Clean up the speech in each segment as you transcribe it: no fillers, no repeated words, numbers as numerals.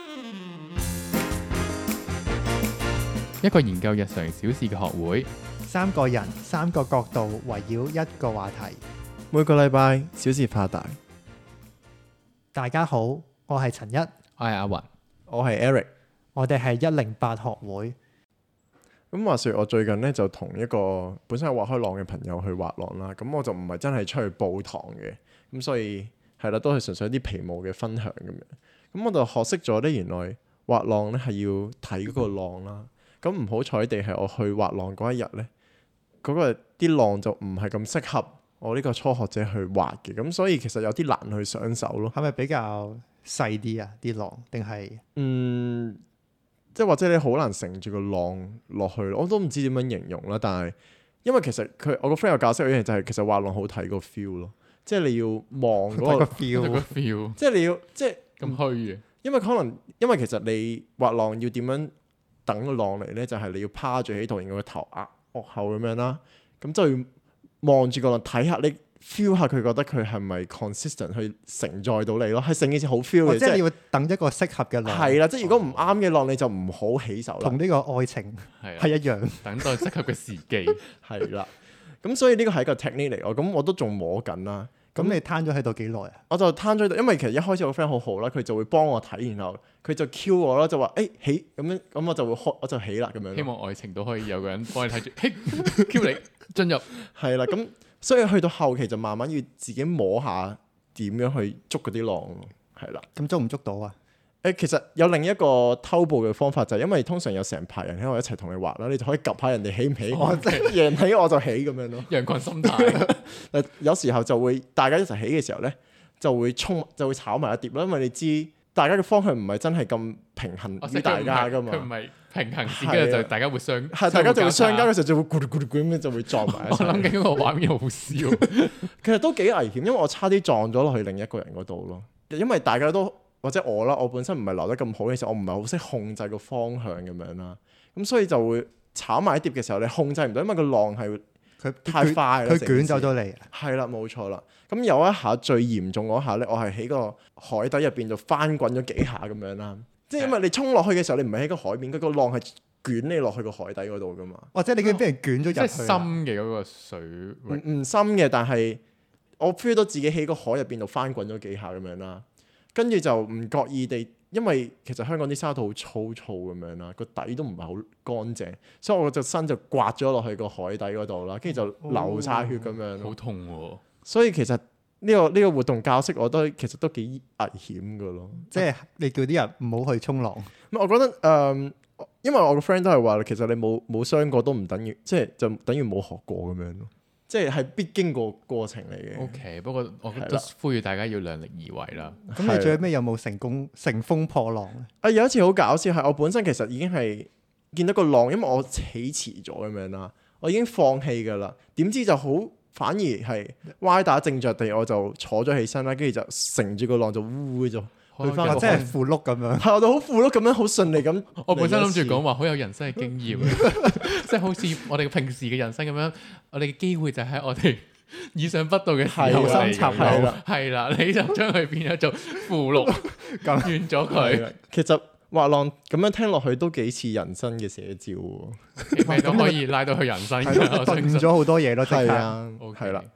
一個研究日常小事嘅學會， 三個人三個角度圍繞一個話題， 每個禮拜小事化大。 大家好，我係陳一， 我係阿雲， 我係 Eric， 我哋係108學會。 咁話說我最近咧就同一個本身係滑開浪嘅朋友去滑浪啦，咁我就唔係真係出去報堂嘅，咁所以係啦，都係純粹一啲皮毛嘅分享咁樣。咁我就學識咗咧，原來滑浪咧係要睇嗰個浪啦。咁唔好彩地係我去滑浪嗰一日咧，嗰個啲浪就唔係咁適合我呢個初學者去滑嘅，咁所以其實有啲難去上手咯。 係咪比較細啲啊？啲浪定係即係或者你好難乘住個浪落去，我都唔知點樣形容啦。但係因為其實我個 friend 有教識我一樣就係其實滑浪好睇個 feel 咯，即係你要望嗰個 feel， 即係你要即係咁虛嘅。因為其實你滑浪要點樣等個浪嚟咧，就係你要趴住喺度，然後個頭壓落後咁樣啦，咁就要望住個浪睇下你 feel 下佢覺得佢係咪 consistent 去承載到你咯，係成件事好 feel 嘅。 即係你要等一個適合嘅浪。係啦，即係如果唔啱嘅浪你就唔好起手啦。同呢個愛情係一樣， 等待適合嘅時機。 係啦，咁所以呢個係一個 technique 嚟，咁我都仲摸緊啦。 咁你攤咗喺度幾耐啊？ 我就攤咗喺度，因為其實一開始我個 friend 好好啦，佢就會幫我睇，然後佢就 cue 我啦，就話起咁樣，咁我就會開，我就起啦咁樣。 希望愛情都可以有個人幫你睇住，cue 你進入。係啦，咁所以去到後期就慢慢要自己摸下點樣去捉嗰啲浪，係啦。 咁捉唔捉到啊？ 其實有另一個偷步嘅方法，就係因為通常有成排人喺度一齊同你滑啦，你就可以 𥄫 下人哋起唔起，贏起我就起咁樣咯。 羊群心態。 有時候就會大家一齊起嘅時候咧，就會炒埋一碟啦，因為你知大家嘅方向唔係真係咁平衡於大家噶嘛。佢唔係平衡線，跟住就大家會大家就會相交嘅時候就會咕嚕咕嚕咁樣就會撞埋一齊。 我諗緊嗰個畫面好笑。 其實都幾危險，因為我差啲撞咗落去另一個人嗰度咯，因為大家都。或者我啦，我本身唔係留得咁好嘅時候，我唔係好識控制個方向咁樣啦，咁所以就會炒埋一碟嘅時候，你控制唔到，因為個浪係佢太快啦， 佢捲走咗你。 係啦，冇錯啦。咁有一下最嚴重嗰下咧，我係喺個海底入邊就翻滾咗幾下咁樣啦。即係因為你衝落去嘅時候，你唔係喺個海面，嗰個浪係捲你落去個海底嗰度噶嘛。或者你已經俾人捲咗入去。即係深嘅嗰個水唔深嘅，但係我 feel 到自己喺個海入邊度翻滾咗幾下咁樣啦。跟住就唔覺意地，因為其實香港啲沙土好粗糙咁樣啦，個底都唔係好乾淨，所以我隻身就刮咗落去個海底嗰度啦，跟住就流晒血咁樣。 好痛喎！ 所以其實呢個活動教識我都其實都幾危險噶咯。 即係你叫啲人唔好去衝浪。 我覺得因為我個 friend 都係話，其實你冇傷過都唔等於，即係就等於冇學過咁樣咯。即係必經過程嚟嘅。 OK， 不過我都呼籲大家要量力而為啦。 咁你最尾有冇乘風破浪咧？ 有一次好搞笑係我本身其實已經係見到個浪，因為我起遲咗咁樣啦，我已經放棄㗎啦。點知就好反而係歪打正着地，我就坐咗起身啦，跟住就乘住個浪就烏咗。去翻即係符碌咁樣， 係我哋好符碌咁樣，好順利咁。 我本身諗住講話好有人生嘅經驗，即係好似我哋平時嘅人生咁樣，我哋嘅機會就喺我哋意想不到嘅時候嚟。係啦，你就將佢變咗做符碌，咁完咗佢。 其實滑浪咁樣聽落去都幾似人生嘅寫照喎， 咩都可以拉到去人生。 頓咗好多嘢咯， 係啊，係啦。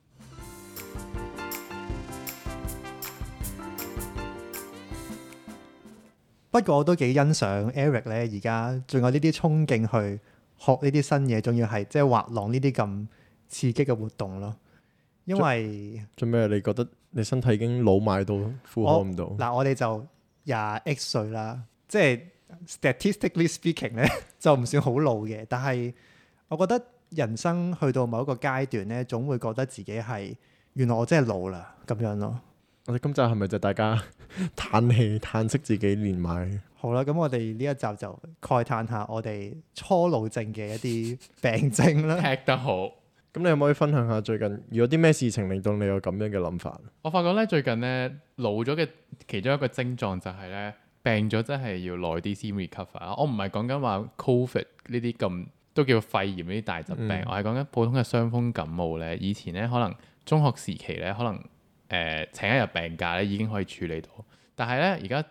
不過我都幾欣賞 Eric 咧，而家仲有呢啲衝勁去學呢啲新嘢，仲要係即係滑浪呢啲咁刺激嘅活動咯。因為做咩？你覺得你身體已經老邁到負荷唔到？ 嗱，我哋就20X 歲啦，即係 statistically speaking 咧，就唔算好老嘅。但係我覺得人生去到某一個階段咧，總會覺得自己係原來我真係老啦咁樣咯。 我哋今集係咪就大家嘆氣嘆息自己年邁？ 好啦，咁我哋呢一集就慨嘆下我哋初老症嘅一啲病症啦。 踢得好， 咁你可唔可以分享下最近有啲咩事情令到你有咁樣嘅諗法？ 我發覺咧最近咧老咗嘅其中一個症狀就係咧病咗真係要耐啲先 recover。我唔係講緊話 COVID 呢啲咁都叫肺炎呢啲大疾病，我係講緊普通嘅傷風感冒咧。以前咧可能中學時期咧可能請一日病假咧已經可以處理到，但係咧而家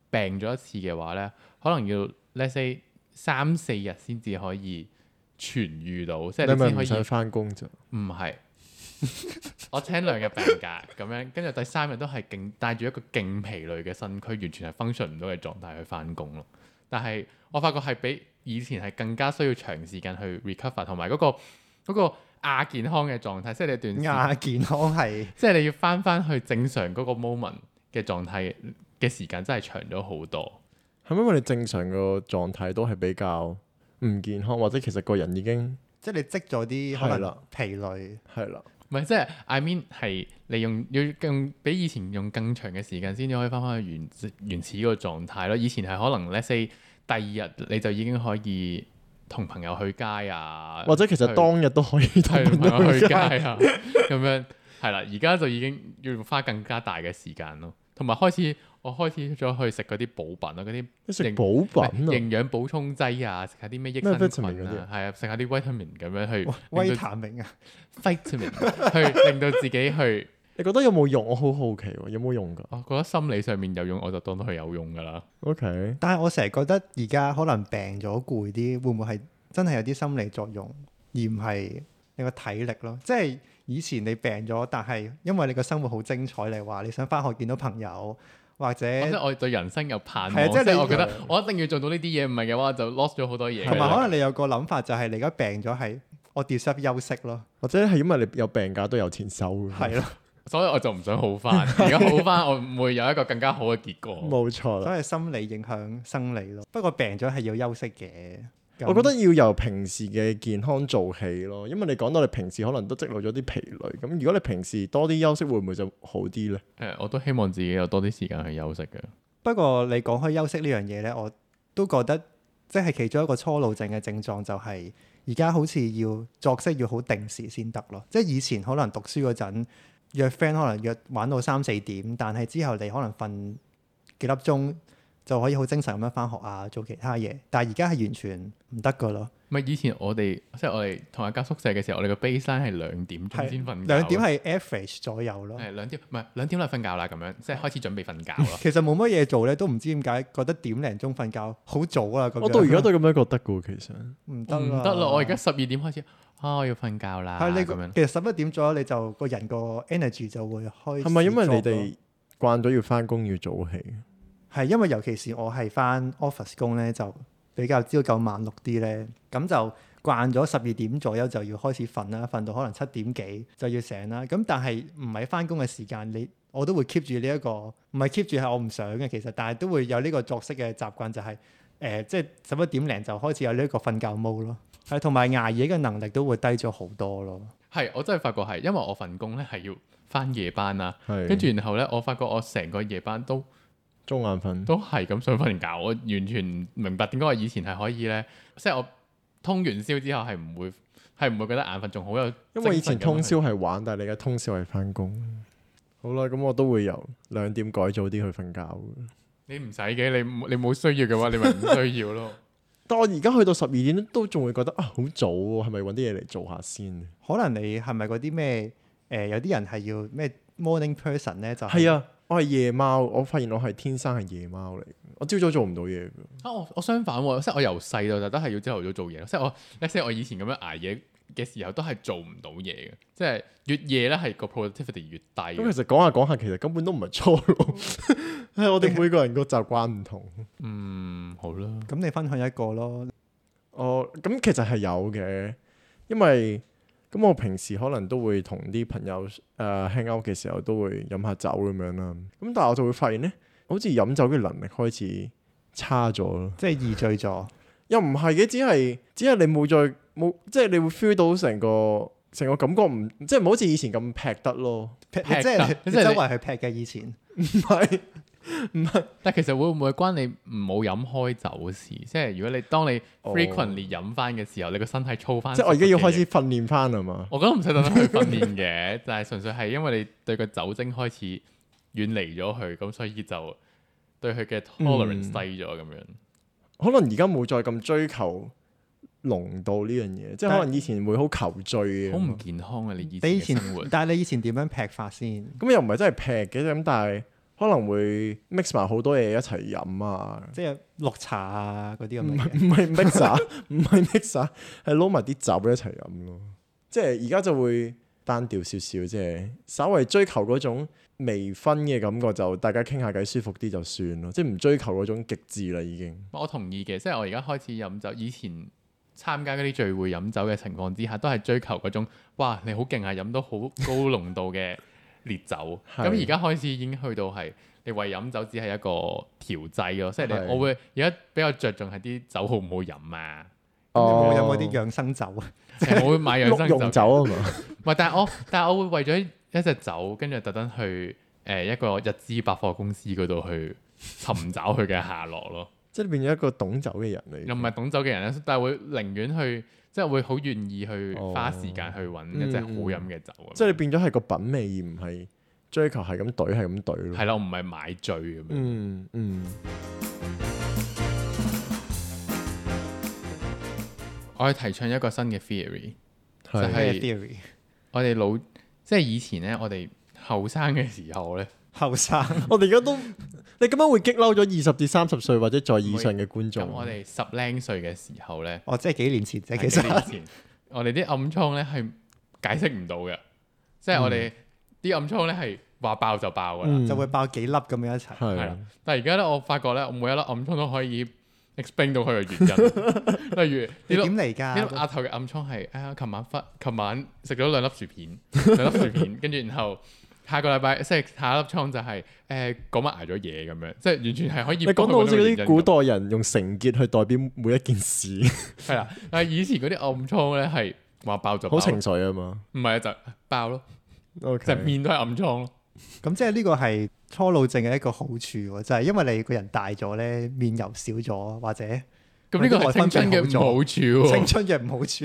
病咗一次嘅話咧，可能要 let's say 3-4日先至可以痊愈到，即係你先可以想翻工咋？ 唔係，我請2日病假咁樣，跟住第3日都係帶住一個勁疲累嘅身軀，完全係 function 唔到嘅狀態去翻工咯。但係我發覺係比以前係更加需要長時間去 recover， 同埋嗰個亞健康嘅狀態，即係你段亞健康係， 即係你要翻去正常嗰個 moment 嘅狀態嘅時間真係長咗好多。 係咪因為你正常個狀態都係比較唔健康，或者其實個人已經即係你積咗啲可能疲累， 係啦， 唔係即係 I mean 係你要更比以前用更長嘅時間先至可以翻去原始嗰個狀態咯。以前係可能 let's say 第2日你就已經可以同朋友去街啊， 或者其實當日都可以同朋友去街啊，咁樣係啦。而家就已經要花更加大嘅時間咯，同埋我開始咗去食嗰啲補品啊，嗰啲食補品營養補充劑啊，食下啲咩益生菌啊，係啊，食下啲 vitamin 咁樣去維他命啊 ，vitamin 去令到自己去。 你覺得有冇用？我好好奇喎，有冇用㗎？ 我覺得心理上面有用，我就當到佢有用㗎啦。 OK， 但係我成日覺得而家可能病咗攰啲，會唔會係真係有啲心理作用，而唔係你個體力咯？即係以前你病咗，但係因為你個生活好精彩，你話你想返學見到朋友。或者即係我對人生有盼望， 即係我覺得我一定要做到呢啲嘢，唔係嘅話就 lost 咗好多嘢。 同埋可能你有個諗法就係你而家病咗係我 deserve 休息咯， 或者係因為你有病假都有錢收。 係咯， 所以我就唔想好返。而家好返，我唔會有一個更加好嘅結果。 冇錯啦， 所以心理影響生理咯。不過病咗係要休息嘅。 我覺得要由平時嘅健康做起咯，因為你講到你平時可能都積累咗啲疲累，咁如果你平時多啲休息，會唔會就好啲呢？ 我都希望自己有多啲時間去休息嘅。 不過你講開休息呢樣嘢呢，我都覺得即係其中一個初老症嘅症狀就係而家好似要作息要好定時先得咯。即係以前可能讀書嗰陣約 friend 可能約玩到3-4點，但係之後你可能瞓幾粒鐘。就可以好精神咁樣返學啊，做其他嘢。但係而家係完全唔得噶咯。 唔係以前我哋同一間宿舍嘅時候，我哋個 baseline 係2點鐘先瞓覺。 2點係 average 左右咯。 係2點，唔係2點就瞓覺啦，咁樣即係開始準備瞓覺咯。 其實冇乜嘢做咧，都唔知點解覺得1點鐘瞓覺好早啦。咁我到而家都咁樣覺得噶喎，其實唔得啦。我而家12點開始我要瞓覺啦。 係你咁樣。 其實11點左右你就個人個 energy 就會開始。 係咪因為你哋慣咗要返工要早起？ 係因為尤其是我係返 office 工咧，就比較朝九晚六啲咧，咁就慣咗12點左右就要開始瞓啦，瞓到可能7點幾就要醒啦。咁但係唔係返工嘅時間，我都會 keep 住呢一個，唔係 keep 住係我唔想嘅其實，但係都會有呢個作息嘅習慣，就係即係11點零就開始有呢一個瞓覺 mode 咯。係同埋捱夜嘅能力都會低咗好多咯。 係我真係發覺係，因為我份工咧係要返夜班啦， 係跟住然後咧我發覺我成個夜班都中眼瞓， 都係咁想瞓覺。我完全唔明白點解我以前係可以咧，即係我通完宵之後係唔會覺得眼瞓，仲好有。 因為以前通宵係玩，但係你而家通宵係返工。好啦，咁我都會由2點改早啲去瞓覺。 你唔使嘅，你冇需要嘅話，你咪唔需要咯。 但我而家去到12點都仲會覺得好早喎，係咪揾啲嘢嚟做下先？ 可能你係咪嗰啲咩有啲人係要咩 morning person 咧？就係啊。我係夜貓，我發現我係天生係夜貓嚟。我朝早做唔到嘢㗎。 我相反喎，即係我由細到大都係要朝頭早做嘢。即係我以前咁樣捱夜嘅時候都係做唔到嘢嘅。即係越夜咧係個 productivity 越低。 咁其實講下講下，其實根本都唔係初老，係我哋每個人個習慣唔同。 好啦。 咁你分享一個咯。 咁其實係有嘅，因為咁我平時可能都會同啲朋友hang out 嘅時候都會飲下酒咁樣啦。咁但係我就會發現咧，好似飲酒嘅能力開始差咗咯。 即係易醉咗。 又唔係嘅，只係你冇，即係你會 feel 到成個感覺即係唔好似以前咁劈得咯。 即係你周圍去劈嘅以前。 唔係。 但其實會唔會關你唔好飲開酒事？即係如果當你 frequently 飲翻嘅時候，你個身體操翻。 即係我而家要開始訓練翻啊嘛。 我覺得唔使特登去訓練嘅，但係純粹係因為你對個酒精開始遠離咗佢，咁所以就對佢嘅 tolerance 低咗咁樣。 可能而家冇再咁追求濃度呢樣嘢，即係可能以前會好求醉嘅。 好唔健康啊！你以前嘅生活。 但係你以前點樣劈法先？ 咁又唔係真係劈嘅，咁但係可能會 mix 埋好多嘢一齊飲啊， 即係綠茶啊嗰啲咁唔嘅嘢。 係唔係 mixer， 唔係 mixer， 係撈埋啲酒一齊飲咯。即係而家就會單調少少，即係稍微追求嗰種微醺嘅感覺，就大家傾下偈舒服啲就算咯，即係唔追求嗰種極致啦已經。 我同意嘅，即係我而家開始飲酒，以前參加嗰啲聚會飲酒嘅情況之下，都係追求嗰種哇你好勁啊，飲到好高濃度嘅烈酒。咁而家開始已經去到係你為飲酒只係一個調劑咯，即係我會而家比較着重係啲酒好唔好飲啊。 你有冇啲養生酒啊？ 我會買養生酒啊嘛。 唔係，但係我會為咗一隻酒，跟住特登去一個日資百貨公司嗰度去尋找佢嘅下落咯。 即係你變咗一個懂酒嘅人嚟。 又唔係懂酒嘅人咧，但係會寧願去，即係會好願意去花時間去揾一隻好飲嘅酒。 即係你變咗係個品味，而唔係追求係咁懟係咁懟咯。 係咯，唔係買醉咁樣。我係提倡一個新嘅 theory，就係 theory。 我哋即係以前咧，我哋後生嘅時候咧， 後生， 我哋而家都，你咁樣會激嬲咗20至30歲或者再以上嘅觀眾。 咁我哋10零歲嘅時候咧， 即係幾年前啫，其實我哋啲暗瘡咧係解釋唔到嘅，即係我哋啲暗瘡咧係話爆就爆噶啦， 就會爆幾粒咁樣一齊。 係啦，但係而家咧，我發覺咧，我每一粒暗瘡都可以explain 到佢嘅原因，例如你點嚟㗎？ 呢粒額頭嘅暗瘡係琴晚食咗2粒薯片，跟住然後下個禮拜即係下一粒瘡就係嗰晚捱咗嘢咁樣，即係完全係可以。你講到好似嗰啲古代人用繩結去代表每一件事， 係啦。但係以前嗰啲暗瘡咧係話爆就爆， 好情緒啊嘛。 唔係就爆咯， Okay. 就面都係暗瘡咯。 咁即係呢個係初老症嘅一個好處喎，就係因為你個人大咗咧，面油少咗，或者咁呢個係青春嘅唔好處喎。 青春嘅唔好處。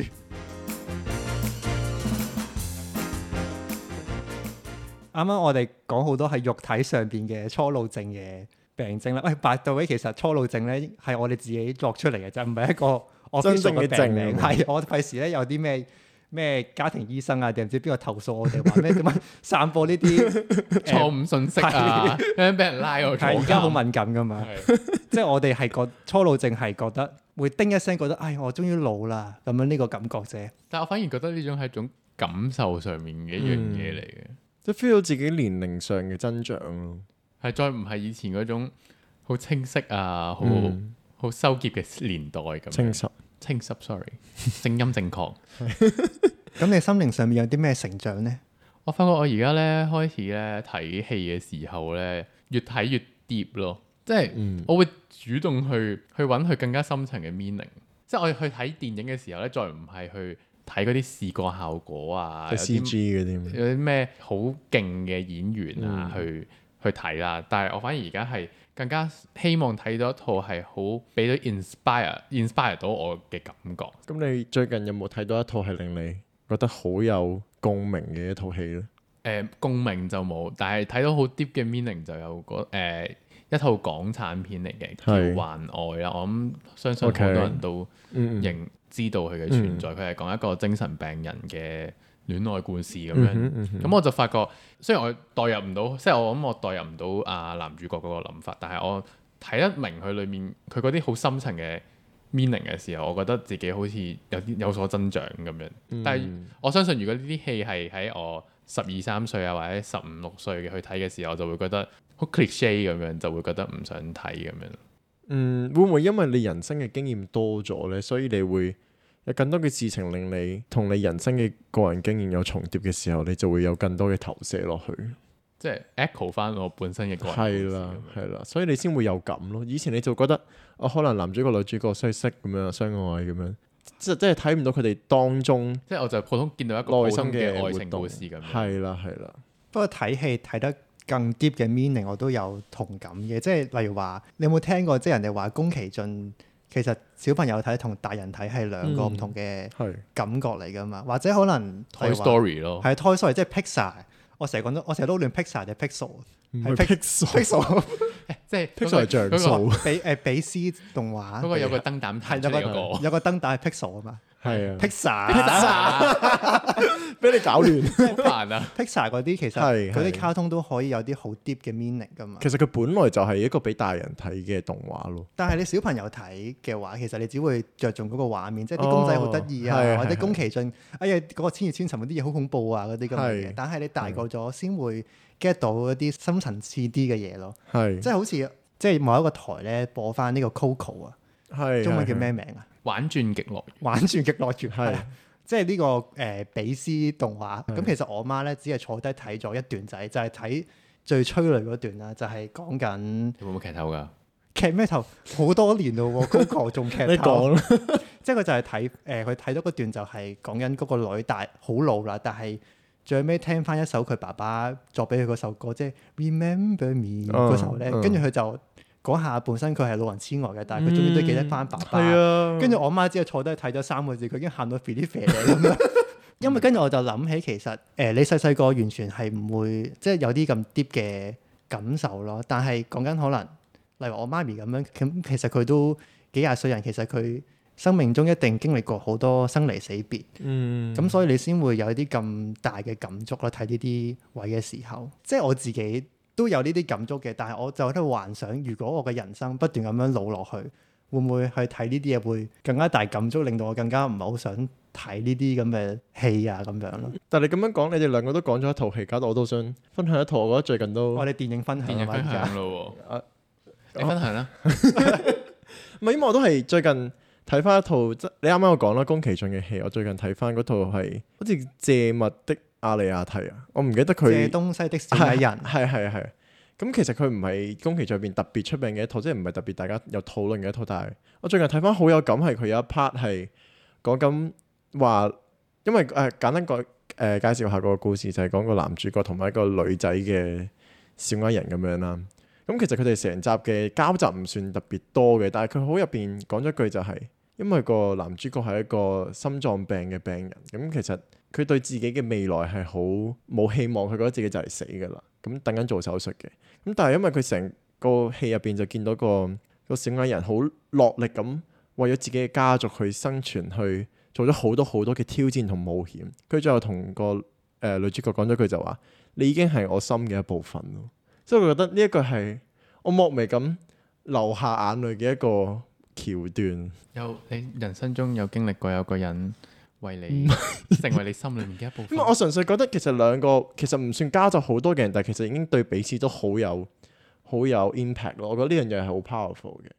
啱啱我哋講好多係肉體上邊嘅初老症嘅病症啦。喂，by the way，其實初老症咧係我哋自己作出嚟嘅，就唔係一個真正嘅病名。 係我費事咧有啲咩家庭醫生啊，定唔知邊個投訴我哋話咩點樣散播呢啲錯誤信息啊，咁樣俾人拉我坐監。 而家好敏感噶嘛，即係我哋係個初老症係覺得會叮一聲，覺得我終於老啦咁樣呢個感覺啫。 但我反而覺得呢種係一種感受上面嘅一樣嘢嚟嘅， 即係 feel 到自己年齡上嘅增長咯。 係再唔係以前嗰種好清晰啊，好收結嘅年代咁。清濕 ，sorry， 正音正確。 咁你心靈上面有啲咩成長呢？ 我發覺我而家咧開始咧睇戲嘅時候咧，越睇越 deep 咯，即係我會主動去揾佢更加深層嘅 meaning。即係我去睇電影嘅時候咧，再唔係去睇嗰啲視覺效果啊， 即係 CG 嗰啲， 有啲咩好勁嘅演員啊，去睇啦。但係我反而而家係更加希望睇到一套係好俾到 inspire 到我嘅感覺。 咁你最近有冇睇到一套係令你覺得好有共鳴嘅一套戲咧？ 共鳴就冇，但係睇到好 deep 嘅 meaning 就有一套港產片嚟嘅，叫《幻愛》啦。我諗相信好多人都知道佢嘅存在。佢係講一個精神病人嘅戀愛故事咁樣。咁我就發覺，雖然我代入唔到，即係我諗我代入唔到男主角嗰個諗法，但係我睇得明佢裏面佢嗰啲好深層嘅 meaning 嘅時候，我覺得自己好似有所增長咁樣。但係我相信，如果呢啲戲係喺我12、13歲啊，或者15、16歲嘅去睇嘅時候，我就會覺得好 cliche 咁樣，就會覺得唔想睇咁樣。 會唔會因為你人生嘅經驗多咗呢？所以你會有更多嘅事情令你同你人生嘅個人經驗有重疊嘅時候，你就會有更多嘅投射落去， 即係 echo 翻我本身嘅個人。 係啦，所以你先會有感咯。以前你就覺得可能男主角女主角相識咁樣相愛咁樣，即係睇唔到佢哋當中， 即係我就普通見到一個普通嘅愛情故事咁樣。 係啦。 不過睇戲睇得更 deep 嘅 meaning 我都有同感嘅，即係例如話你有冇聽過，即係人哋話宮崎駿其實小朋友睇同大人睇係兩個唔同嘅感覺嚟㗎嘛，或者可能 Toy Story 咯， 係 Toy Story 即係 Pixar。我成日撈亂 Pixar 定 Pixel， 係 Pixel， 即係 Pixel 係像素， 比斯動畫嗰個有個燈膽彈出嚟嗰個， 有個燈膽係 Pixel 啊嘛， 係啊 Pixar 俾你搞亂， 好煩啊 Pixar 嗰啲其實嗰啲卡通都可以有啲好 deep 嘅 meaning 噶嘛。 其實佢本來就係一個俾大人睇嘅動畫咯。 但係你小朋友睇嘅話，其實你只會着重嗰個畫面，即係啲公仔好得意啊，或者宮崎駿，哎呀嗰個千與千尋嗰啲嘢好恐怖啊嗰啲咁嘅嘢。但係你大個咗先會 get 到一啲深層次啲嘅嘢咯。即係好似即係某一個台咧播翻呢個 Coco 啊，中文叫咩名啊？ 玩轉極樂園， 玩轉極樂園係。即係呢個比斯動畫，咁其實我媽咧只係坐低睇咗一段仔，就係睇最催淚嗰段啦，就係講緊會唔會劇透㗎？ 劇咩頭？好多年咯喎，Coco 仲劇透。 你講啦， 即係佢就係睇佢睇到嗰段就係講緊嗰個女大好老啦，但係最尾聽翻一首佢爸爸作俾佢嗰首歌，即係 Remember Me 嗰首咧，跟住佢就。嗰下本身佢係老人痴呆嘅，但係佢終於都記得翻爸爸。跟住我媽只係坐低睇咗3個字，佢已經喊到肥啲肥咁樣。因為跟住我就諗起其實你細細個完全係唔會即係有啲咁 deep 嘅感受咯。但係講緊可能例如我媽咪咁樣，咁其實佢都幾廿歲人，其實佢生命中一定經歷過好多生離死別。咁所以你先會有啲咁大嘅感觸咯。睇呢啲位嘅時候，即係我自己。都有呢啲感觸嘅，但係我就喺度幻想，如果我嘅人生不斷咁樣老落去，會唔會去睇呢啲嘢會更加大感觸，令到我更加唔係好想睇呢啲咁嘅戲啊咁樣咯。 但係你咁樣講，你哋兩個都講咗一套戲，搞到我都想分享一套，我覺得最近都我哋電影分享咯喎，你分享啦。 唔係，因為我都係最近睇翻一套，即你啱啱有講啦，宮崎駿嘅戲，我最近睇翻嗰套係好似借物的阿里亞提啊，我唔記得佢借東西的小矮人， 係。咁其實佢唔係宮崎駿入邊特別出名嘅一套，即係唔係特別大家有討論嘅一套。但係我最近睇翻好有感，係佢有一 part 係講緊話，因為簡單介紹下個故事，就係講個男主角同埋一個女仔嘅小矮人咁樣啦。咁其實佢哋成集嘅交集唔算特別多嘅，但係佢好入邊講咗句就係，因為個男主角係一個心臟病嘅病人，咁其實佢對自己嘅未來係好冇希望，佢覺得自己就嚟死㗎啦，咁等緊做手術嘅。咁但係因為佢成個戲入邊就見到個小矮人好落力咁為咗自己嘅家族去生存，去做咗好多嘅挑戰同冒險。佢最後同個女主角講咗句就話：你已經係我心嘅一部分咯。所以我覺得呢一個係我莫名咁流下眼淚嘅一個橋段。 你人生中有經歷過有個人為你成為你心裏面嘅一部分。 因為我純粹覺得其實兩個其實唔算交集好多嘅人，但係其實已經對彼此都好有 impact 咯。我覺得呢樣嘢係好 powerful 嘅。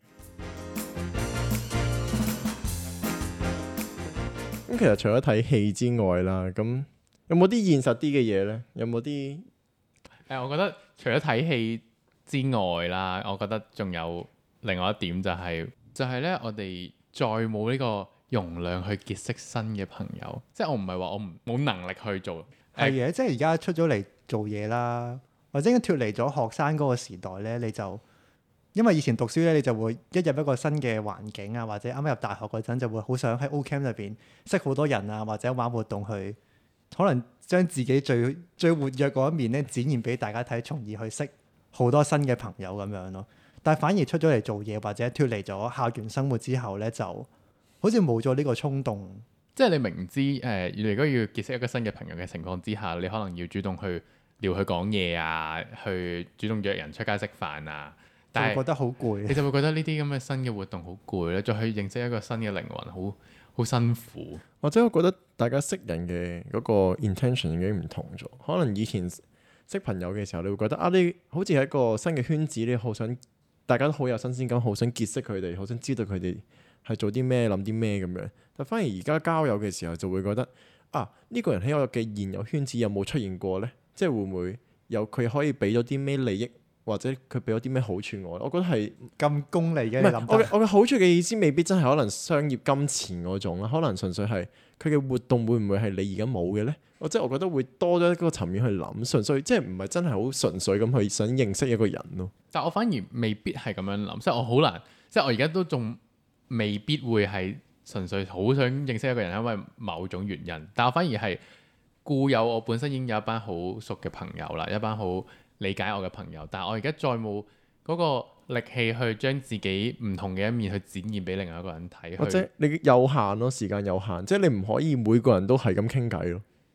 咁其實除咗睇戲之外啦，咁有冇啲現實啲嘅嘢呢？有冇啲？ 我覺得除咗睇戲之外啦，我覺得仲有另外一點就係咧，我哋再冇呢個容量去結識新嘅朋友。即係我唔係話我冇能力去做， 係嘅。即係而家出咗嚟做嘢啦，或者脫離咗學生嗰個時代咧，你就因為以前讀書咧，你就會一入一個新嘅環境啊，或者啱啱入大學嗰陣就會好想喺 O-Camp 入邊識好多人啊，或者玩活動去，可能將自己最活躍嗰一面咧展現俾大家睇，從而去識好多新嘅朋友咁樣咯。但係反而出咗嚟做嘢或者脫離咗校園生活之後咧，就好似冇咗呢個衝動。 即係你明知如果要結識一個新嘅朋友嘅情況之下，你可能要主動去撩佢講嘢啊，去主動約人出街食飯啊，但係覺得好攰。 你就會覺得呢啲咁嘅新嘅活動好攰咧，再去認識一個新嘅靈魂，好辛苦。 或者我覺得大家識人嘅嗰個 intention 已經唔同咗。可能以前識朋友嘅時候，你會覺得你好似係一個新嘅圈子，你好想大家都好有新鮮感，好想結識佢哋，好想知道佢哋係做啲咩、諗啲咩咁樣。但反而而家交友嘅時候，就會覺得呢個人喺我嘅現有圈子有冇出現過呢？即係會唔會有佢可以俾咗啲咩利益，或者佢俾咗啲咩好處我？我覺得係咁功利嘅。 我嘅好處嘅意思未必真係可能商業金錢嗰種啦，可能純粹係佢嘅活動會唔會係你而家冇嘅呢？我覺得會多咗一個層面去諗，純粹即係唔係真係好純粹咁去想認識一個人咯。 但我反而未必係咁樣諗，即係我好難，即係我而家都仲未必會係純粹好想認識一個人，因為某種原因。但我反而係固有我本身已經有一班好熟嘅朋友啦，一班好理解我嘅朋友，但係我而家再冇嗰個力氣去將自己唔同嘅一面去展現俾另外一個人睇， 或者你有限咯，時間有限，即係你唔可以每個人都係咁傾偈咯。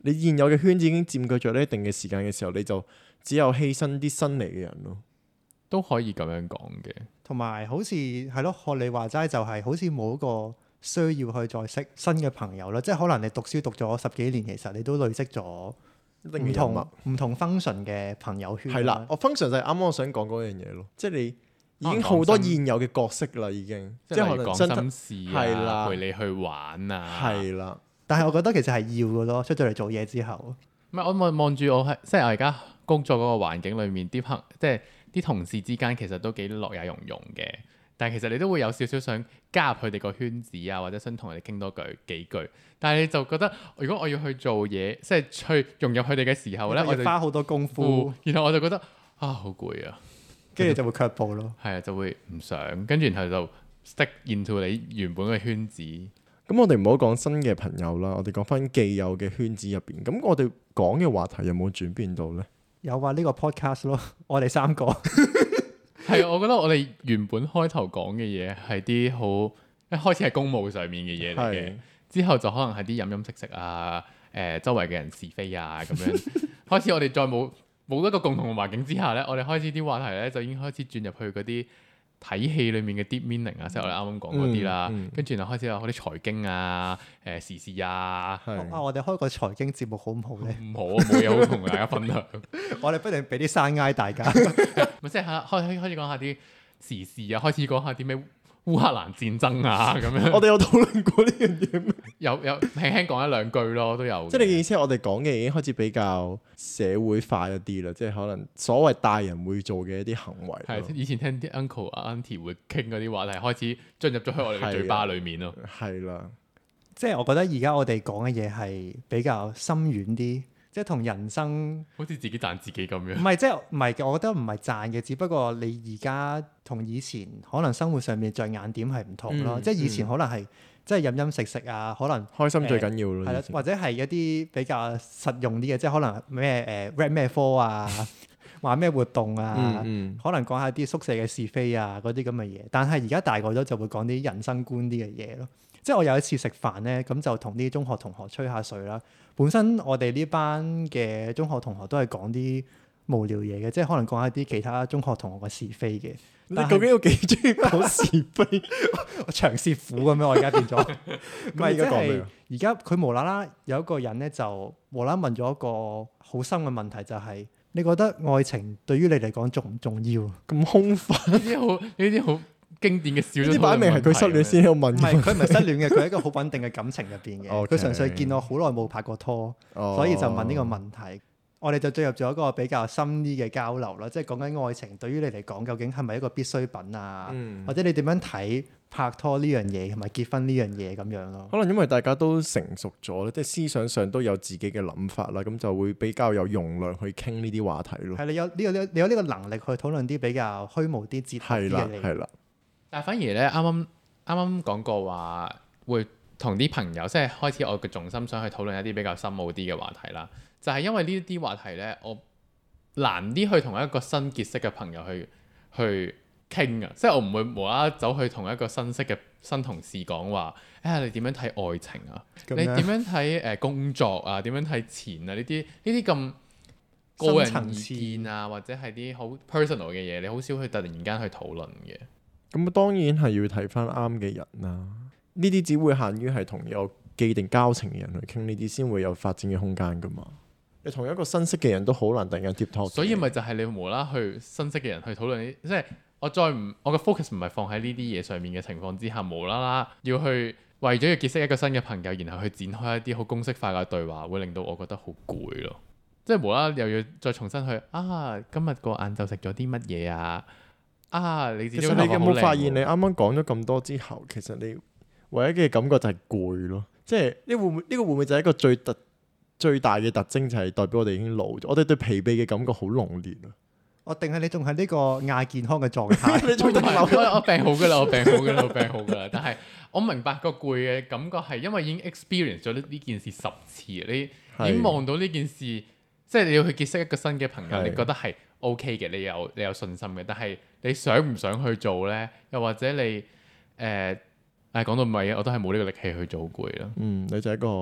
你現有嘅圈子已經佔據咗呢一定嘅時間嘅時候，你就只有犧牲啲新嚟嘅人咯。 都可以咁樣講嘅。同埋好似係咯，學你話齋就係好似冇一個需要去再識新嘅朋友啦。即係可能你讀書讀咗10幾年，其實你都累積咗唔同 function 嘅朋友圈。係啦， 我 function 就係啱啱我想講嗰樣嘢咯，即係你已經好多現有嘅角色啦，已經即係可能講心事啊，陪你去玩啊。 係啦， 但係我覺得其實係要嘅咯，出咗嚟做嘢之後。 唔係我望住我係即係我而家工作嗰個環境裏面即係啲同事之間其實都幾樂也融融嘅，但係其實你都會有少少想加入佢哋個圈子啊，或者想同佢哋傾多幾句。但係你就覺得，如果我要去做嘢，即係去融入佢哋嘅時候咧，我就花好多功夫， 然後我就覺得好攰啊， 跟住就會卻步咯。 係啊，就會唔想，跟住然後就 stick into 你原本嘅圈子。 咁我哋唔好講新嘅朋友啦，我哋講翻既有嘅圈子入邊。咁我哋講嘅話題有冇轉變到咧？ 有啊，呢個 podcast 咯，我哋3個係我覺得我哋原本開頭講嘅嘢係啲好一開始係公務上面嘅嘢嚟嘅，之後就可能係啲飲飲食食啊，周圍嘅人是非啊咁樣。開始我哋再冇一個共同嘅環境之下咧，我哋開始啲話題咧就已經開始轉入去嗰啲睇戲裡面嘅 deep meaning 啊，即係我哋啱啱講嗰啲啦。跟住然後開始有嗰啲財經啊、時事啊。 我哋開個財經節目好唔好咧？ 唔好啊，冇嘢好同大家分享。 我哋不如俾啲山挨大家。 咪即係開始講下啲時事啊，開始講下啲咩烏克蘭戰爭啊咁樣。 我哋有討論過呢樣嘢咩？ 有輕輕講1-2句咯，都有。即係你嘅意思係我哋講嘅已經開始比較社會化一啲啦，即係可能所謂大人會做嘅一啲行為。 係以前聽啲 uncle auntie 會傾嗰啲話題，開始進入咗去我哋嘅嘴巴裡面咯。 係啦， 即係我覺得而家我哋講嘅嘢係比較深遠啲。即係同人生好似自己讚自己咁樣。 唔係，即係唔係？我覺得唔係讚嘅，只不過你而家同以前可能生活上面着眼點係唔同咯。即係以前可能係即係飲飲食食啊，可能開心最緊要咯。 係啦，或者係一啲比較實用啲嘅，即係可能咩read 咩科啊，話咩活動啊，可能講下啲宿舍嘅是非啊嗰啲咁嘅嘢。但係而家大個咗就會講啲人生觀啲嘅嘢咯。即係我有一次食飯咧，咁就同啲中學同學吹下水啦。本身我哋呢班嘅中學同學都係講啲無聊嘢嘅，即係可能講一啲其他中學同學嘅是非嘅。 你究竟有幾中意講是非？ 長舌婦咁樣，我而家變咗。唔係，即係而家佢無啦啦有一個人咧，就無啦啦問咗一個好深嘅問題，就係你覺得愛情對於你嚟講重唔重要？ 咁空泛呢啲好經典嘅小， 呢啲擺明係佢失戀先有問。 唔係，佢唔係失戀嘅，佢係一個好穩定嘅感情入邊嘅。佢純粹見我好耐冇拍過拖，所以就問呢個問題。我哋就進入咗一個比較深啲嘅交流啦，即係講緊愛情對於你嚟講究竟係咪一個必需品啊？或者你點樣睇拍拖呢樣嘢同埋結婚呢樣嘢咁樣咯？ 可能因為大家都成熟咗，即係思想上都有自己嘅諗法啦，咁就會比較有容量去傾呢啲話題咯。 係你有呢個能力去討論啲比較虛無啲、哲學啲嘅嘢。 係啦。 但係反而咧，啱啱講過話會同啲朋友，即係開始我嘅重心想去討論一啲比較深奧啲嘅話題啦。就係因為呢啲話題咧，我難啲去同一個新結識嘅朋友去傾啊，即係我唔會無啦啦走去同一個新識嘅新同事講話，你點樣睇愛情啊？你點樣睇工作啊？點樣睇錢啊？呢啲咁個人意見啊，或者係啲好 personal 嘅嘢，你好少去突然間去討論嘅。 咁當然係要睇翻啱嘅人啦。呢啲只會限於係同有既定交情嘅人去傾，呢啲先會有發展嘅空間噶嘛。你同一個新識嘅人都好難突然間 deep talk。所以咪就係你無啦去新識嘅人去討論呢？即係我嘅 focus 唔係放喺呢啲嘢上面嘅情況之下，無啦啦要去為咗要結識一個新嘅朋友，然後去展開一啲好公式化嘅對話，會令到我覺得好攰咯。即係無啦啦又要再重新去今日個晏晝食咗啲乜嘢啊？你其實你有冇發現你啱啱講咗咁多之後，其實你唯一嘅感覺就係攰咯。即係呢個會唔會就係一個最大嘅特徵，就係代表我哋已經老咗。我哋對疲憊嘅感覺好濃烈啊！ 我定係你仲係呢個亞健康嘅狀態？ 你仲我病好㗎啦，我病好㗎啦。但係我明白個攰嘅感覺係因為已經 experience 咗呢件事10次，你已經望到呢件事，即係你要去結識一個新嘅朋友，你覺得係 OK 嘅，你有信心嘅。但係你想唔想去做咧？又或者你講到尾，我都係冇呢個力氣去做，攰啦。 你就係一個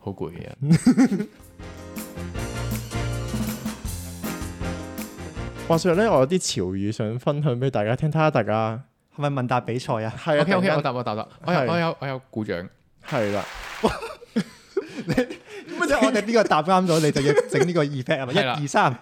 好攰嘅人。 話說咧，我有啲潮語想分享俾大家聽，睇下大家係咪問答比賽啊？ 係啊 OK， 我答，我有鼓掌。 係啦。 即係我哋邊個答啱咗，你就要整呢個 effect 係咪？1、2、3。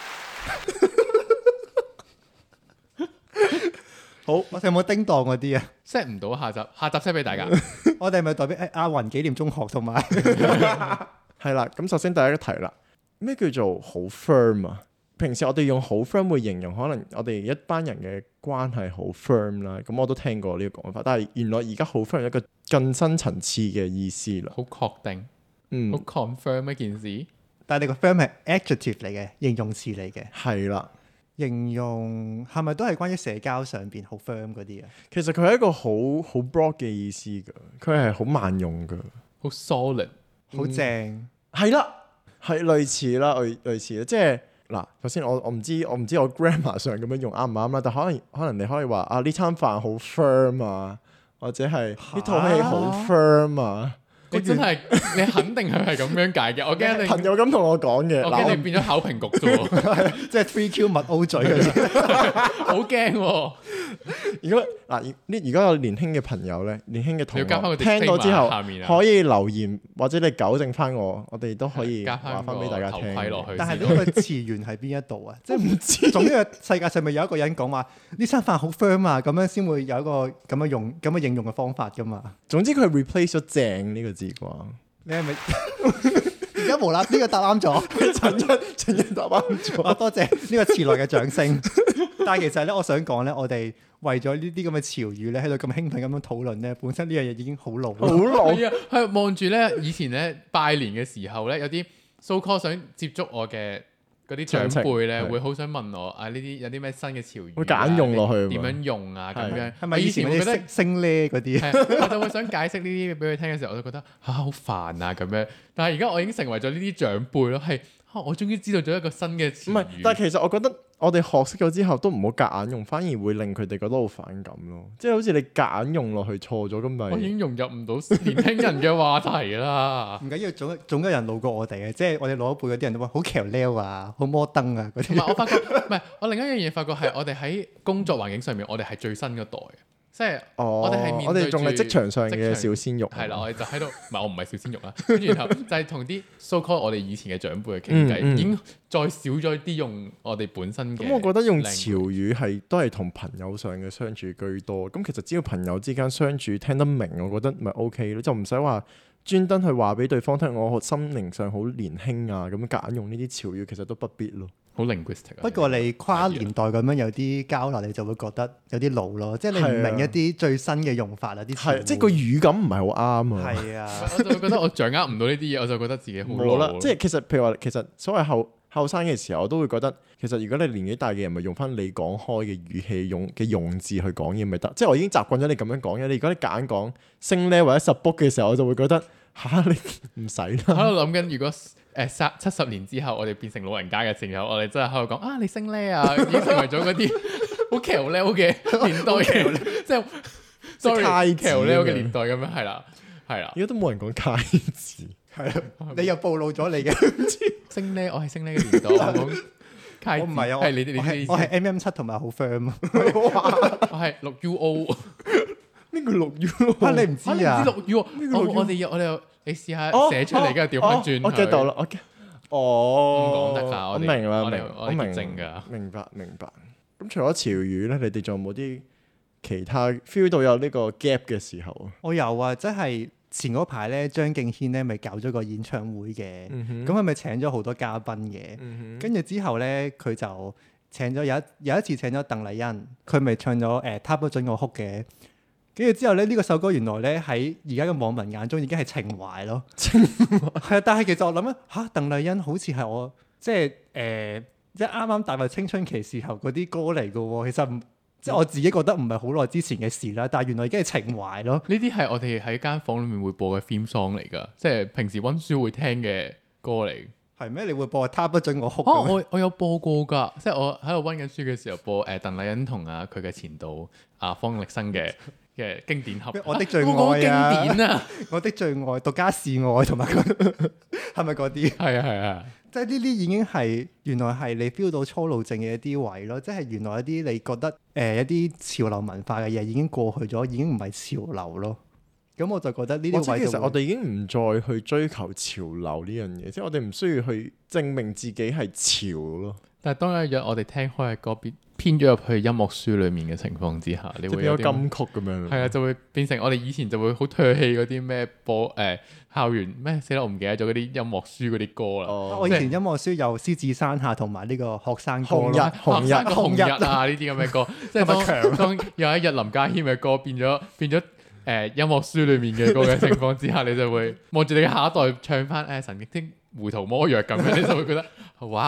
好，我哋有冇叮當嗰啲啊 set 唔到下集 set 俾大家。 我哋係咪代表亞雲紀念中學同埋？ 係啦，咁首先第一個題啦，咩叫做好 firm 啊？平時我哋用好 firm 會形容可能我哋一班人嘅關係好 firm 啦，咁我都聽過呢個講法，但係原來而家好 firm 有一個更深層次嘅意思啦， 好確定，好 confirm 一件事。 但係你個 firm 係 adjective 嚟嘅，形容詞嚟嘅。 係啦， 形容係咪都係關於社交上邊好 firm 嗰啲啊？ 其實佢係一個好 broad 嘅意思㗎，佢係好萬用㗎， 好 solid， 好正。 係啦，係類似啦，類似啦，即係。嗱，首先我唔知我 grammar 上咁樣用啱唔啱啦，但可能你可以話啊，呢餐飯好 firm 啊，或者係呢套戲好 firm 啊。 你真係你肯定佢係咁樣解嘅，我驚你朋友咁同我講嘅， 我驚你變咗考評局啫喎， 即係 3Q 密 O 嘴嗰啲， 好驚喎。 如果有年輕嘅朋友咧，年輕嘅同學聽到之後可以留言或者你糾正翻我哋都可以話翻俾大家聽。 但係呢個詞源喺邊一度啊？即係唔知。總之世界上咪有一個人講話呢餐飯好 firm 啊，咁樣先會有一個咁樣應用嘅方法噶嘛。 總之佢 replace 咗正呢個字啩？ 你係咪而家無啦？呢個答啱咗， 陳一答啱咗。 多謝呢個遲來嘅掌聲。但係其實咧，我想講咧，我哋為咗呢啲咁嘅潮語咧，喺度咁興奮咁樣討論咧，本身呢樣嘢已經好老。好老係啊！係望住咧，以前咧拜年嘅時候咧，有啲 so call 想接觸我嘅嗰啲長輩咧，會好想問我啊，呢啲有啲咩新嘅潮語， 會揀用落去， 點樣用啊？咁樣係咪以前我覺得升咧嗰啲？ 我就會想解釋呢啲俾佢聽嘅時候，我就覺得好煩啊咁樣。但係而家我已經成為咗呢啲長輩咯，係我終於知道咗一個新嘅詞語。 唔係，但係其實我覺得我哋學識咗之後都唔好夾硬用，反而會令佢哋覺得好反感咯。即係好似你夾硬用落去錯咗咁咪。 我已經融入唔到年輕人嘅話題啦。 唔緊要，總有人老過我哋嘅，即係我哋老一輩嗰啲人都話好橋撩啊，好摩登啊嗰啲。 同埋我發覺，唔係我另一樣嘢發覺係我哋喺工作環境上面，我哋係最新嗰代嘅。即係我哋係面對住我哋仲係職場上嘅小鮮肉。 係啦，我哋就喺度，唔係我唔係小鮮肉啦。跟住然後就係同啲 so call 我哋以前嘅長輩去傾偈，已經再少咗啲用我哋本身嘅。 咁我覺得用潮語都係同朋友上嘅相處居多。咁其實只要朋友之間相處聽得明，我覺得咪 OK 咯，就唔使話專登去話俾對方聽，我心靈上好年輕啊，咁夾硬用呢啲潮語，其實都不必咯。 好 linguistic。 不過你跨年代咁樣有啲交流，你就會覺得有啲老咯，即係你唔明一啲最新嘅用法啊，啲詞即係個語感唔係好啱啊。 係啊， 我就覺得我掌握唔到呢啲嘢，我就覺得自己好老啦。 即係其實譬如話，其實所謂後生嘅時候，我都會覺得其實如果你年紀大嘅人，咪用翻你講開嘅語氣用字去講嘢咪得。即係我已經習慣咗你咁樣講嘢。你如果你夾硬講升呢或者十 book 嘅時候，我就會覺得你唔使啦。 喺度諗緊，如果70年之後，我哋變成老人家嘅時候，我哋真係喺度講啊，你升呢啊，已經成為咗嗰啲好橋呢嘅年代嘅，即係 sorry 橋呢嘅年代咁樣，係啦，係啦。 而家都冇人講楷字， 係啊，你又暴露咗你嘅升呢，我係升呢嘅年代，我唔係啊， 我係 MM7 同埋好 firm， 我係6UO。 呢個6UO 啊，你唔知啊？ 我哋你試下寫出嚟，跟住調翻轉。 我 get 到啦， 唔講得㗎， 我明啦， 我明㗎， 明白。咁除咗潮語咧，你哋仲有冇啲其他 feel 到有呢個 gap 嘅時候啊？ 我有啊，即係前嗰排咧，張敬軒咧咪搞咗個演唱會嘅，咁佢咪請咗好多嘉賓嘅，跟住之後咧佢就請咗有一次請咗鄧麗欣，佢咪唱咗他不准我哭嘅。跟住之後咧，呢個首歌原來咧喺而家嘅網民眼中已經係情懷咯。情懷係啊，但係其實我諗啊，鄧麗欣好似係我即係啱啱踏入青春期時候嗰啲歌嚟嘅喎。其實即係我自己覺得唔係好耐之前嘅事啦，但係原來已經係情懷咯。 呢啲係我哋喺間房裡面會播嘅 theme song 嚟㗎，即係平時溫書會聽嘅歌嚟。 係咩？你會播他不准我哭？ 我有播過㗎，即係我喺度溫緊書嘅時候播鄧麗欣同佢嘅前度方力申嘅嘅經典盒。 我的最愛啊！經典啊！ 我的最愛，獨家示愛同埋係咪嗰啲？ 係啊係啊， 即係呢啲已經係原來係你 feel 到初老症嘅一啲位咯，即係原來一啲你覺得一啲潮流文化嘅嘢已經過去咗，已經唔係潮流咯。咁我就覺得呢啲位其實我哋已經唔再去追求潮流呢樣嘢，即係我哋唔需要去證明自己係潮咯。 但係當有一日我哋聽開嘅歌編咗入去音樂書裡面嘅情況之下，你會有金曲咁樣。係啊，就會變成我哋以前就會好唾棄嗰啲咩校園咩死啦，我唔記得咗嗰啲音樂書嗰啲歌啦。 我以前音樂書有獅子山下同埋呢個學生歌紅日啊呢啲咁嘅歌，即係當有一日林家謙嘅歌變咗音樂書裡面嘅歌嘅情況之下，你就會望住你嘅下一代唱翻神經糊塗魔藥咁樣，你就會覺得哇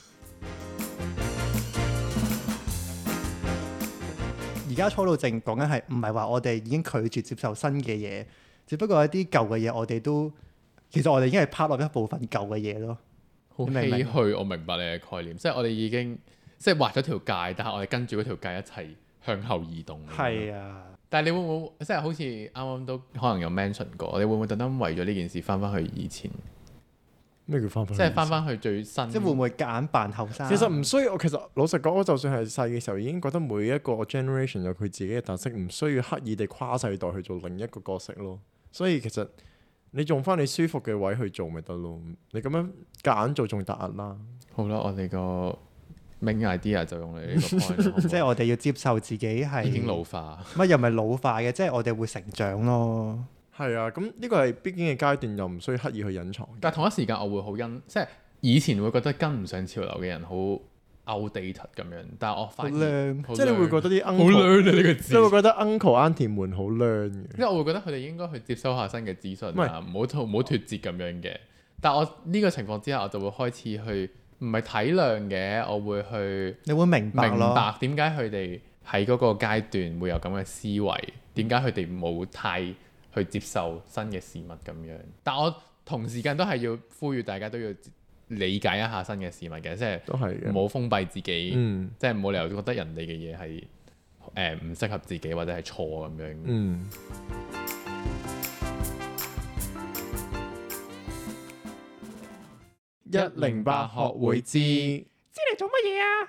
而家初老症講緊係唔係話我哋已經拒絕接受新嘅嘢，只不過一啲舊嘅嘢我哋都其實我哋已經係 part of 一部分舊嘅嘢咯。 好唏噓，我明白你嘅概念，即係我哋已經即係畫咗條界，但係我哋跟住嗰條界一齊向後移動。 係啊， 但係你會唔會即係好似啱啱都可能有 mention 過，你會唔會特登為咗呢件事翻去以前？ 咩叫翻？ 即係翻去最新。 即係會唔會夾硬扮後生？ 其實唔需要。其實老實講，我就算係細嘅時候，已經覺得每一個 generation 有佢自己嘅特色，唔需要刻意地跨世代去做另一個角色咯。所以其實你用翻你舒服嘅位去做咪得咯。你咁樣夾硬做仲突兀啦。 好啦，我哋個 main idea 就用你呢個 point。 即係我哋要接受自己係已經老化。 乜又唔係老化嘅，即係我哋會成長咯。 係啊，咁呢個係必經嘅階段，又唔需要刻意去隱藏。 但係同一時間，我會好即係以前會覺得跟唔上潮流嘅人好 outdated 咁樣，但係我發現即係你會覺得啲 uncle 好 learn 呢個字， 你會覺得 uncle auntie 們好 learn 嘅。 因為我會覺得佢哋應該去接收下新嘅資訊啊，唔好脫節咁樣嘅。但係我呢個情況之下，我就會開始去唔係體諒嘅，我會去你會明白點解佢哋喺嗰個階段會有咁嘅思維，點解佢哋冇太去接受新嘅事物咁樣，但我同時間都係要呼籲大家都要理解一下新嘅事物嘅，即係唔好封閉自己，即係冇理由覺得人哋嘅嘢係唔適合自己或者係錯咁樣。108學會知你做乜嘢啊？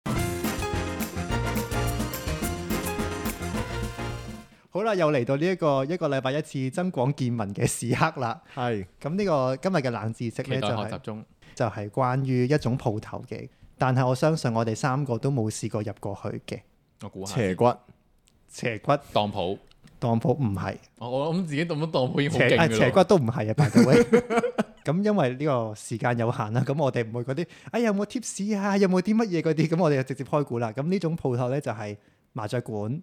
好啦，又嚟到呢一個禮拜一次增廣見聞嘅時刻啦。 係咁呢個今日嘅冷知識咧就係關於一種鋪頭嘅，但係我相信我哋三個都冇試過入過去嘅。 我估下斜骨當鋪唔係。 我諗自己當鋪已經好勁㗎啦。 斜骨都唔係啊，by the way。咁因為呢個時間有限啦，咁我哋唔會嗰啲有冇 tips 啊，有冇啲乜嘢嗰啲，咁我哋就直接開估啦。咁呢種鋪頭咧就係麻雀館。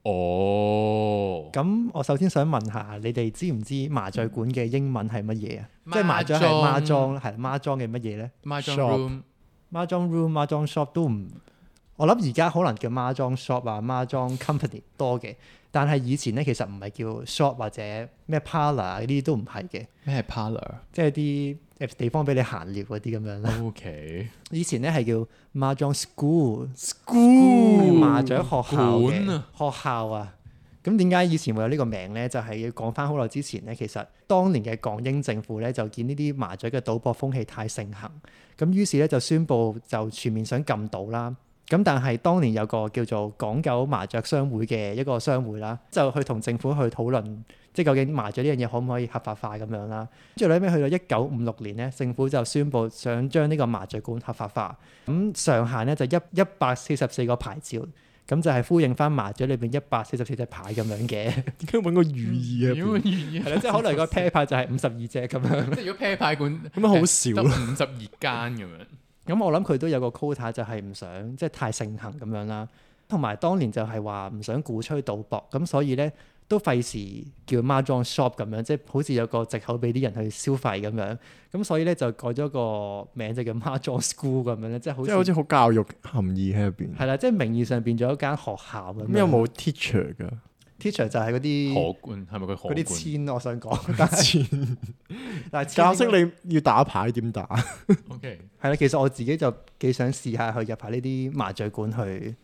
咁我首先想問下，你哋知唔知麻雀館嘅英文係乜嘢啊？即係麻雀係孖莊，係孖莊嘅乜嘢咧？ 孖莊 room、 孖莊 shop 都唔，我諗而家可能叫孖莊 shop 啊、孖莊 company 多嘅，但係以前咧其實唔係叫 shop 或者咩 parlour 呢啲都唔係嘅。 咩係 parlour？即係啲地方俾你閒聊嗰啲咁樣啦。 OK。以前咧係叫孖莊 school 麻雀學校嘅學校啊。咁點解以前會有呢個名咧？就係要講翻好耐之前咧，其實當年嘅港英政府咧就見呢啲麻雀嘅賭博風氣太盛行，咁於是咧就宣布就全面想禁賭啦。咁但係當年有個叫做港九麻雀商會嘅一個商會啦，就去同政府去討論，即係究竟麻雀呢樣嘢可唔可以合法化咁樣啦。跟住後尾去到1956年咧，政府就宣布想將呢個麻雀館合法化，咁上限咧就144個牌照，咁就係呼應翻麻雀裏邊144隻牌咁樣嘅。點解揾個寓意啊？ 係啦，即係可能個啤牌就係52隻咁樣。 即係如果啤牌館咁樣好少咯，52間咁樣。 咁我諗佢都有個 quota，就係唔想即係太盛行咁樣啦。同埋當年就係話唔想鼓吹賭博，咁所以咧都費事叫孖莊 shop 咁樣，即係好似有個藉口俾啲人去消費咁樣。咁所以咧就改咗個名，就叫孖莊 school 咁樣咧，即係好似好教育含義喺入邊。 係啦，即係名義上變咗一間學校咁樣。 咁有冇 teacher 㗎 ？teacher 就係嗰啲荷官，係咪佢荷官？ 嗰啲簽我想講，但係教識你要打牌點打。 OK， 係啦，其實我自己就幾想試下去入下呢啲麻雀館去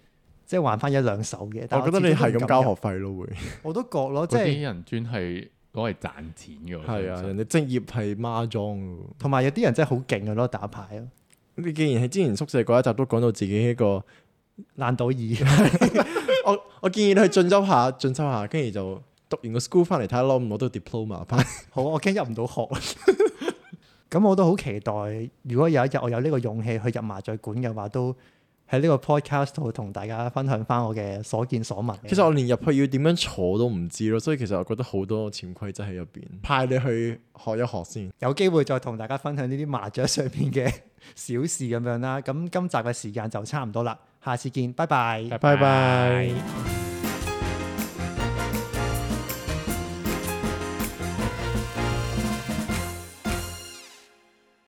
即係玩翻一兩手嘅。但我覺得你係咁交學費咯，會。 我都覺咯，即係啲人專係攞嚟賺錢嘅。 係啊，人哋職業係孖裝嘅。 同埋有啲人真係好勁嘅咯，打牌咯。 你既然喺之前宿舍嗰一集都講到自己一個爛賭二， 我建議你去進修下，跟住就讀完個 school 翻嚟睇下攞唔攞到 diploma 翻。 好，我驚入唔到學。咁我都好期待，如果有一日我有呢個勇氣去入麻醉館嘅話，都喺呢個 podcast 度同大家分享翻我嘅所見所聞。 其實我連入去要點樣坐都唔知咯，所以其實我覺得好多潛規則喺入邊，派你去學一學先。 有機會再同大家分享呢啲麻雀上面嘅小事咁樣啦。咁今集嘅時間就差唔多啦，下次見，拜拜， 拜拜。